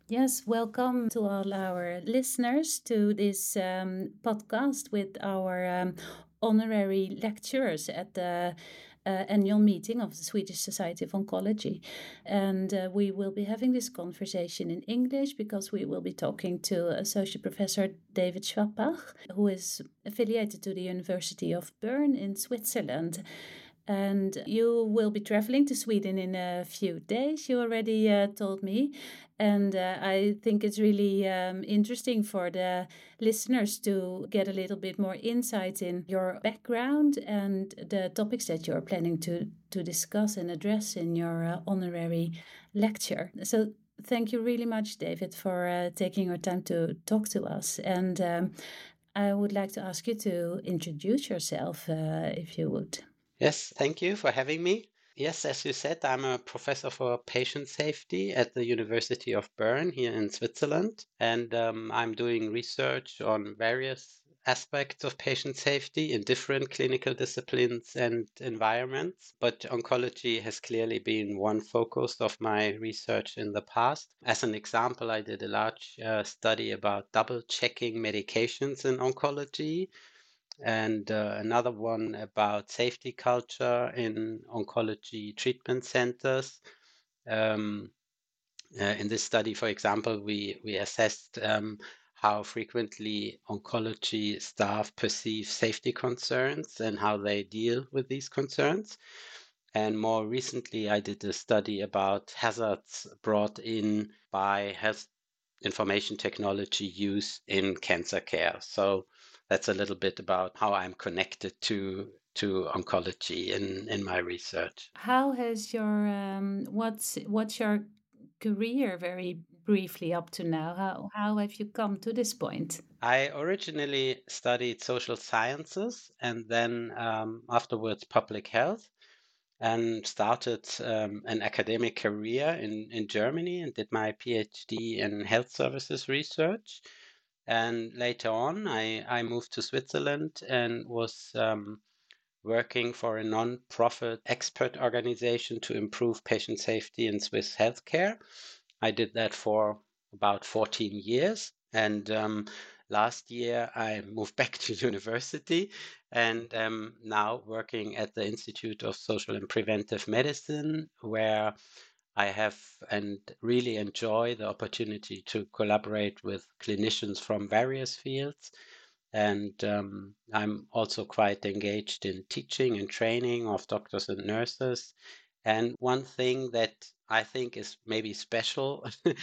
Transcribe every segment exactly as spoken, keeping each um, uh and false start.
Yes, welcome to all our listeners to this um, podcast with our um, honorary lecturers at the uh, annual meeting of the Swedish Society of Oncology. And uh, we will be having this conversation in English because we will be talking to Associate Professor David Schwappach, who is affiliated to the University of Bern in Switzerland. And you will be traveling to Sweden in a few days, you already uh, told me. And uh, I think it's really um, interesting for the listeners to get a little bit more insight in your background and the topics that you're planning to, to discuss and address in your uh, honorary lecture. So thank you really much, David, for uh, taking your time to talk to us. And um, I would like to ask you to introduce yourself, uh, if you would. Yes, thank you for having me. Yes, as you said, I'm a professor for patient safety at the University of Bern here in Switzerland, and um, I'm doing research on various aspects of patient safety in different clinical disciplines and environments. But oncology has clearly been one focus of my research in the past. As an example, I did a large uh, study about double checking medications in oncology, and uh, another one about safety culture in oncology treatment centers. Um, uh, in this study, for example, we, we assessed um, how frequently oncology staff perceive safety concerns and how they deal with these concerns. And more recently, I did a study about hazards brought in by health information technology use in cancer care. So that's a little bit about how I'm connected to to oncology in in my research. How has your um, what's what's your career very briefly up to now? How how have you come to this point? I originally studied social sciences and then um, afterwards public health, and started um, an academic career in, in Germany and did my PhD in health services research. And later on, I, I moved to Switzerland and was um, working for a non-profit expert organization to improve patient safety in Swiss healthcare. I did that for about fourteen years. And um, last year, I moved back to university and am now working at the Institute of Social and Preventive Medicine, where I have and really enjoy the opportunity to collaborate with clinicians from various fields. And um, I'm also quite engaged in teaching and training of doctors and nurses. And one thing that I think is maybe special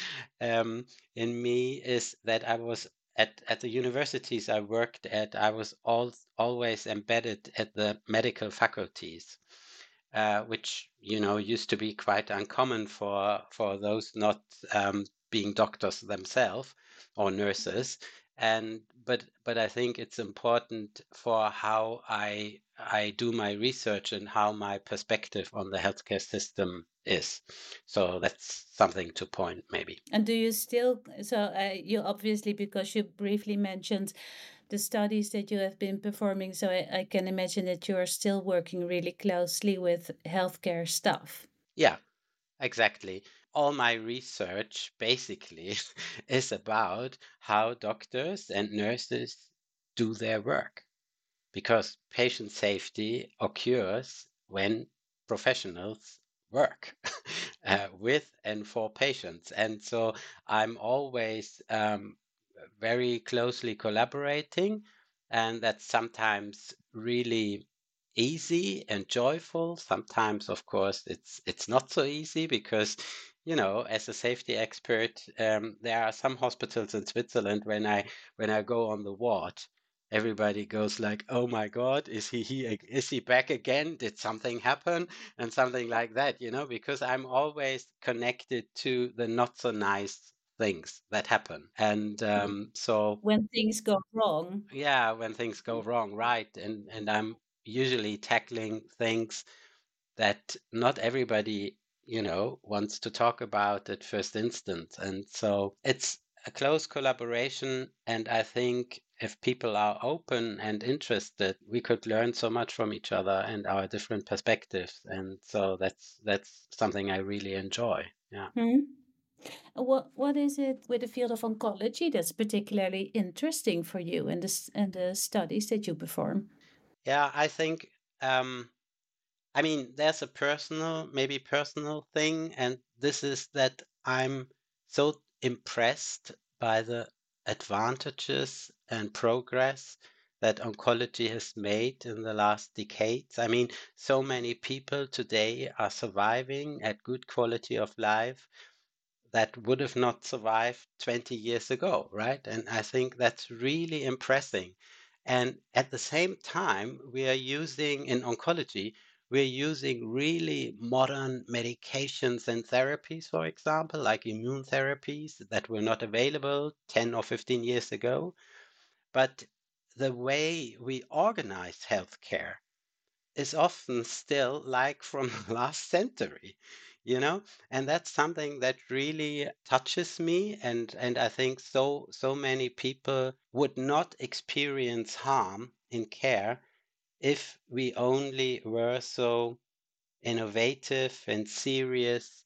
um, in me is that I was at, at the universities I worked at, I was all, always embedded at the medical faculties, uh, which, you know, used to be quite uncommon for, for those not um, being doctors themselves or nurses. And but but I think it's important for how I I do my research and how my perspective on the healthcare system is. So that's something to point maybe. And do you still, so uh, you obviously, because you briefly mentioned the studies that you have been performing, so I, I can imagine that you are still working really closely with healthcare staff. Yeah, exactly. All my research basically is about how doctors and nurses do their work, because patient safety occurs when professionals work uh, with and for patients. And so I'm always um, very closely collaborating, and that's sometimes really easy and joyful. Sometimes, of course, it's it's not so easy because, you know, as a safety expert, um, there are some hospitals in Switzerland when I when I go on the ward, everybody goes like, "Oh my God, is he he is he back again? Did something happen?" And something like that, you know, because I'm always connected to the not so nice things that happen. And um, so, When things go wrong. yeah, when things go wrong, right? And and I'm usually tackling things that not everybody, you know, wants to talk about at first instance. And so it's a close collaboration. And I think if people are open and interested, we could learn so much from each other and our different perspectives. And so that's that's something I really enjoy. Yeah. Hmm? What what is it with the field of oncology that's particularly interesting for you and the s- and the studies that you perform? Yeah, I think um, I mean, there's a personal, maybe personal thing, and this is that I'm so impressed by the advantages and progress that oncology has made in the last decades. I mean, so many people today are surviving at good quality of life that would have not survived twenty years ago, right? And I think that's really impressive. And at the same time, we are using in oncology, we're using really modern medications and therapies, for example, like immune therapies that were not available ten or fifteen years ago. But the way we organize healthcare is often still like from the last century, you know? And that's something that really touches me. And, and I think so, so many people would not experience harm in care if we only were so innovative and serious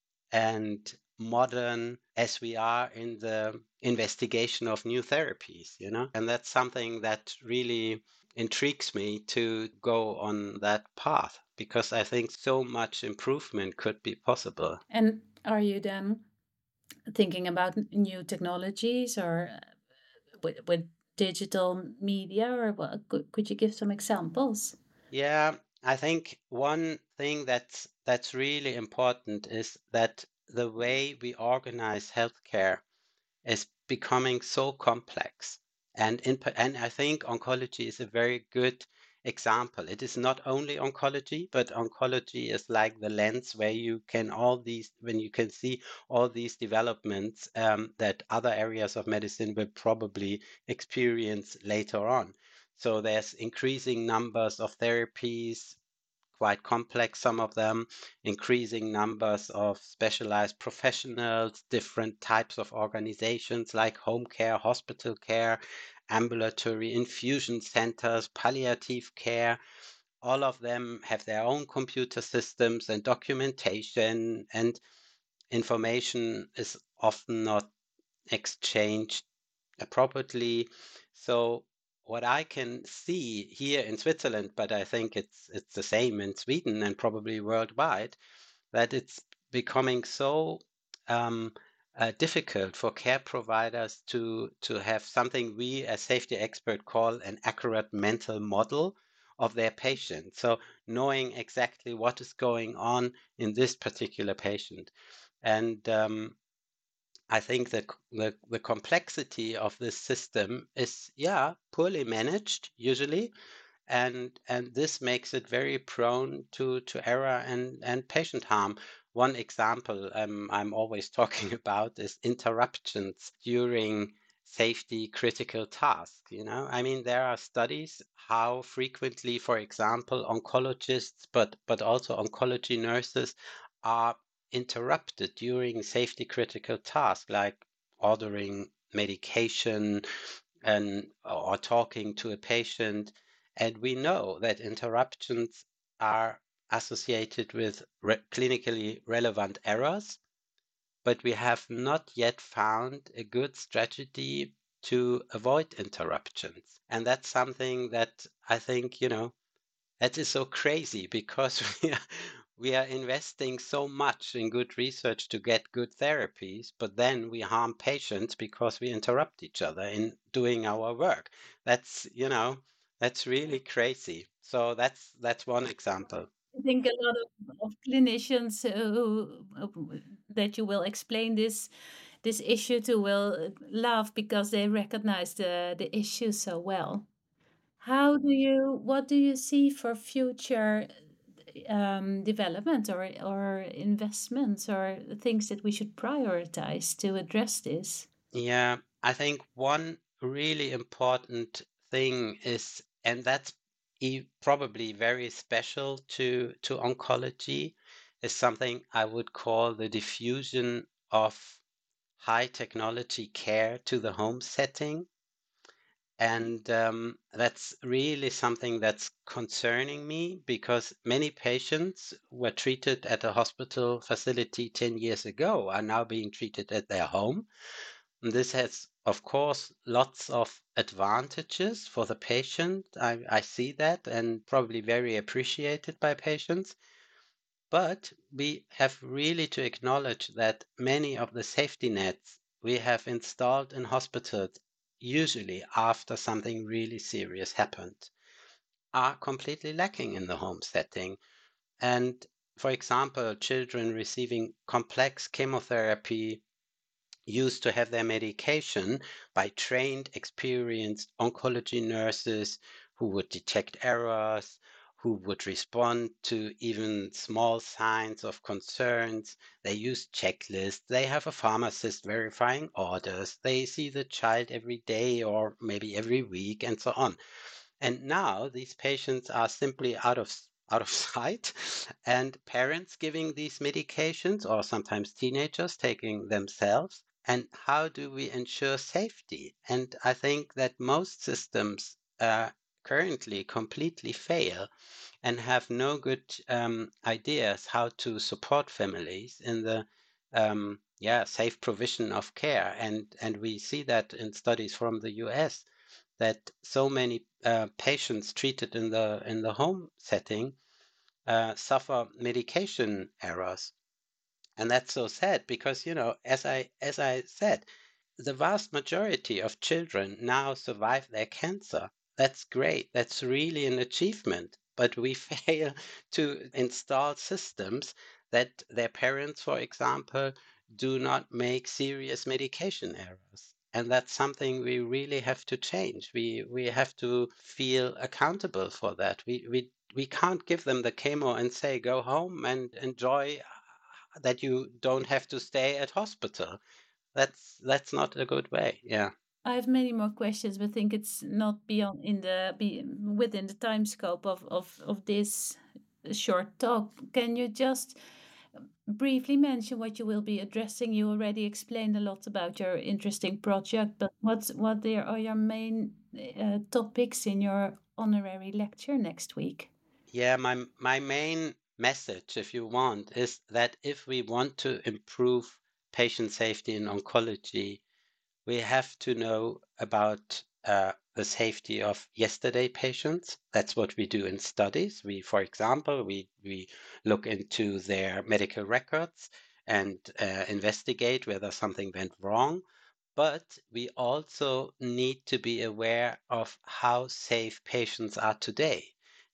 and modern as we are in the investigation of new therapies, you know? And that's something that really intrigues me to go on that path because I think so much improvement could be possible. And are you then thinking about n- new technologies or uh, with, with digital media or what? Could, could you give some examples? Yeah, I think one thing that's that's really important is that the way we organize healthcare is becoming so complex. And in, and I think oncology is a very good example. It is not only oncology, but oncology is like the lens where you can all these when you can see all these developments um, that other areas of medicine will probably experience later on. So there's increasing numbers of therapies, quite complex, some of them, increasing numbers of specialized professionals, different types of organizations like home care, hospital care, ambulatory infusion centers, palliative care. All of them have their own computer systems and documentation, and information is often not exchanged appropriately. So what I can see here in Switzerland, but I think it's it's the same in Sweden and probably worldwide, that it's becoming so um, uh, difficult for care providers to to have something we as safety expert call an accurate mental model of their patient. So knowing exactly what is going on in this particular patient. And um, I think the, the the complexity of this system is, yeah, poorly managed usually, and and this makes it very prone to to error and and patient harm. One example um, I'm always talking about is interruptions during safety critical tasks. You know, I mean, there are studies how frequently, for example, oncologists, but but also oncology nurses are interrupted during safety critical tasks like ordering medication and or talking to a patient. And we know that interruptions are associated with re- clinically relevant errors, but we have not yet found a good strategy to avoid interruptions. And that's something that I think, you know, that is so crazy because we are, we are investing so much in good research to get good therapies, but then we harm patients because we interrupt each other in doing our work. That's, you know, that's really crazy. So that's that's one example. I think a lot of, of clinicians uh, who, uh, that you will explain this this issue to will uh, laugh because they recognize the the issue so well. How do you what do you see for future um, development or or investments or things that we should prioritize to address this? Yeah, I think one really important thing is, and that's e- probably very special to to oncology, is something I would call the diffusion of high technology care to the home setting. And um, that's really something that's concerning me because many patients were treated at a hospital facility ten years ago are now being treated at their home. And this has, of course, lots of advantages for the patient. I, I see that and probably very appreciated by patients. But we have really to acknowledge that many of the safety nets we have installed in hospitals, usually after something really serious happened, are completely lacking in the home setting. And for example, children receiving complex chemotherapy used to have their medication by trained, experienced oncology nurses who would detect errors, who would respond to even small signs of concerns. They use checklists. They have a pharmacist verifying orders. They see the child every day or maybe every week and so on. And now these patients are simply out of out of sight, and parents giving these medications, or sometimes teenagers taking themselves. And how do we ensure safety? And I think that most systems uh, currently completely fail and have no good um, ideas how to support families in the um, yeah safe provision of care. And and we see that in studies from the U S that so many uh, patients treated in the in the home setting uh, suffer medication errors, and that's so sad because you know, as I as I said, the vast majority of children now survive their cancer. That's great. That's really an achievement. But we fail to install systems that their parents, for example, do not make serious medication errors. And that's something we really have to change. We we have to feel accountable for that. We we we can't give them the chemo and say go home and enjoy that you don't have to stay at hospital. That's that's not a good way. Yeah. I have many more questions, but think it's not beyond in the be within the time scope of of of this short talk. Can you just briefly mention what you will be addressing? You already explained a lot about your interesting project, but what's what there are your main uh, topics in your honorary lecture next week? Yeah, my my main message, if you want, is that if we want to improve patient safety in oncology, we have to know about uh, the safety of yesterday patients. That's what we do in studies. We, for example, we we look into their medical records and uh, investigate whether something went wrong. But we also need to be aware of how safe patients are today,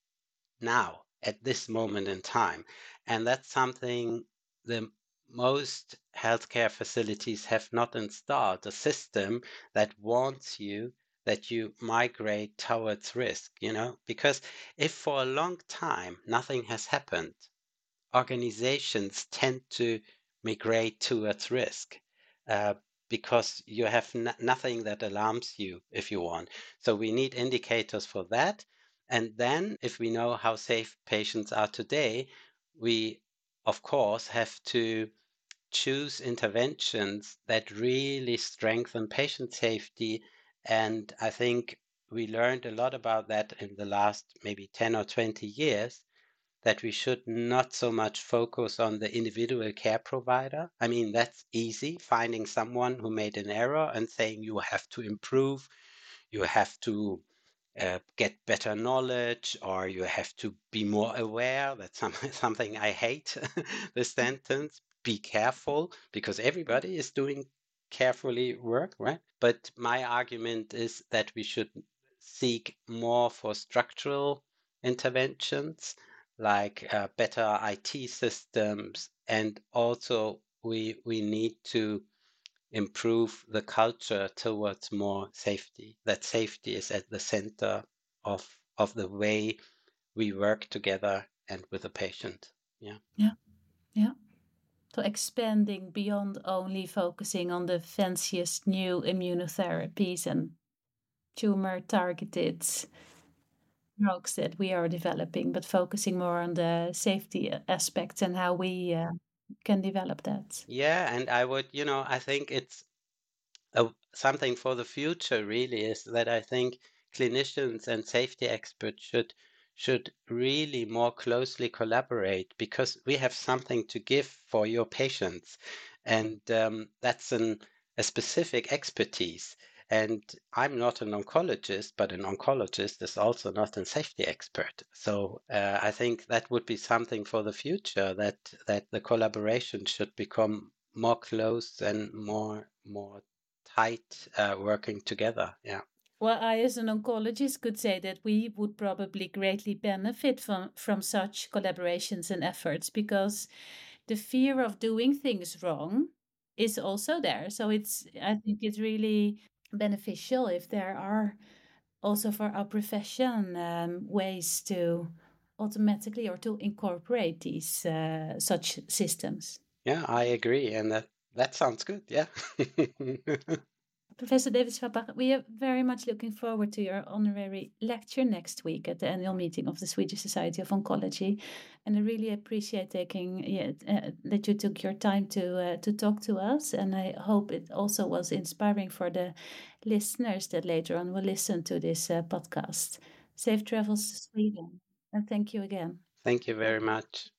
now, at this moment in time. And that's something the most healthcare facilities have not installed, a system that warns you that you migrate towards risk, you know? Because if for a long time nothing has happened, organizations tend to migrate towards risk uh, because you have n- nothing that alarms you if you want. So we need indicators for that. And then, if we know how safe patients are today, we, of course, have to choose interventions that really strengthen patient safety. And I think we learned a lot about that in the last maybe ten or twenty years, that we should not so much focus on the individual care provider. I mean, that's easy, finding someone who made an error and saying you have to improve, you have to uh, get better knowledge, or you have to be more aware. That's some, something I hate, the sentence. Be careful, because everybody is doing carefully work, right? But my argument is that we should seek more for structural interventions, like uh, better I T systems, and also we we need to improve the culture towards more safety. That safety is at the center of of the way we work together and with the patient. Yeah. Yeah, yeah. So expanding beyond only focusing on the fanciest new immunotherapies and tumor targeted drugs that we are developing, but focusing more on the safety aspects and how we uh, can develop that. Yeah, and I would, you know, I think it's uh, something for the future really is that I think clinicians and safety experts should should really more closely collaborate because we have something to give for your patients, and um, that's an, a specific expertise. And I'm not an oncologist, but an oncologist is also not a safety expert. So uh, I think that would be something for the future, that that the collaboration should become more close and more more tight, uh, working together. Yeah. Well, I, as an oncologist, could say that we would probably greatly benefit from, from such collaborations and efforts, because the fear of doing things wrong is also there. So it's, I think it's really beneficial if there are also for our profession um, ways to automatically or to incorporate these uh, such systems. Yeah, I agree, and that that sounds good. Yeah. Professor David Schwabach, we are very much looking forward to your honorary lecture next week at the annual meeting of the Swedish Society of Oncology, and I really appreciate taking yeah, uh, that you took your time to uh, to talk to us, and I hope it also was inspiring for the listeners that later on will listen to this uh, podcast. Safe travels to Sweden, and thank you again. Thank you very much.